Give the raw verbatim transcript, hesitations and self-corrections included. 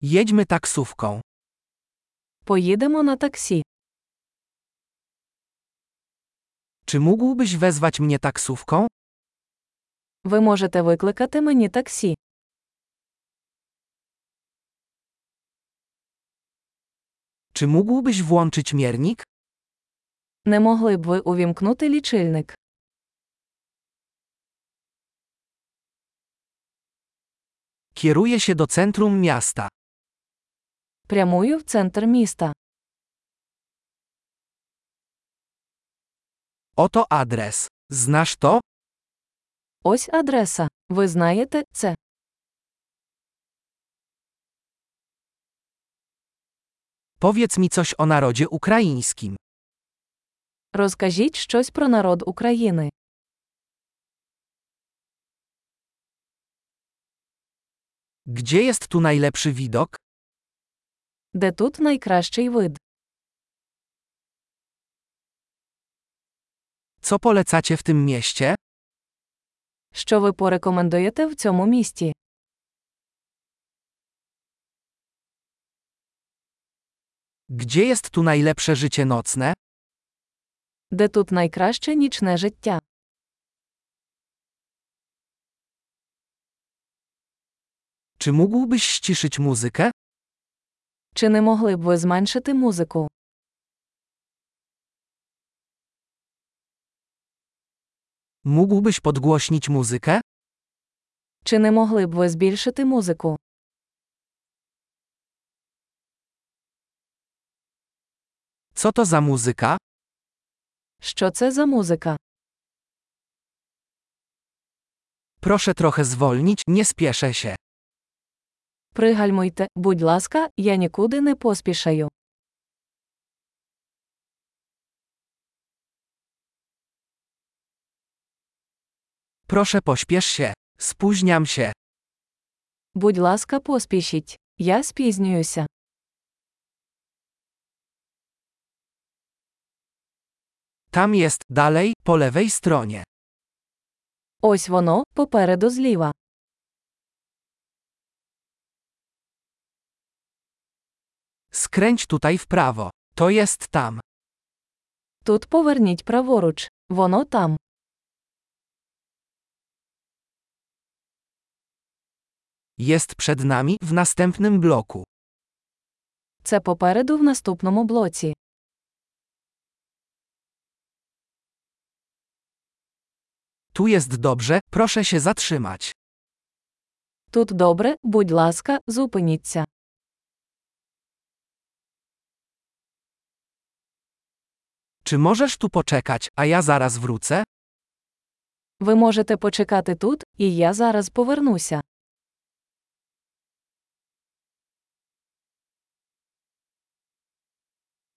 Jedźmy taksówką. Поїдемо на таксі. Czy mógłbyś wezwać mnie taksówką? Ви можете викликати мені таксі. Czy mógłbyś włączyć miernik? Не могли б ви увімкнути лічильник? Kieruję się do centrum miasta. Прямую в центр міста. Oto adres. Znasz to? Ось адреса. Ви знаєте це? Powiedz mi coś o narodzie ukraińskim. Розкажіть щось про народ України. Gdzie jest tu najlepszy widok? Де тут найкращий вид? Co polecacie w tym mieście? Що ви порекомендуєте в цьому місті? Gdzie jest tu najlepsze życie nocne? Де тут найкраще нічне життя? Czy mógłbyś ściszyć muzykę? Чи не могли б ви зменшити музику? Mógłbyś podgłośnić muzykę? Чи не могли б ви збільшити музику? Co to za muzyka? Що це за музика? Proszę trochę zwolnić, nie spieszę się. Пригальмуйте, будь ласка, я нікуди не поспішаю. Proszę pośpiesz się. Spóźniam się. Будь ласка, поспішіть. Я спізнююся. Tam jest, dalej, po lewej stronie. Ось воно, попереду зліва. Skręć tutaj w prawo. To jest tam. Тут поверніть праворуч. Воно там. Jest przed nami, w następnym bloku. Це попереду в наступному блоці. Tu jest dobrze, proszę się zatrzymać. Тут добре, будь ласка, зупиніться. Czy możesz tu poczekać, a ja zaraz wrócę? Ви можете почекати тут, і я зараз повернуся.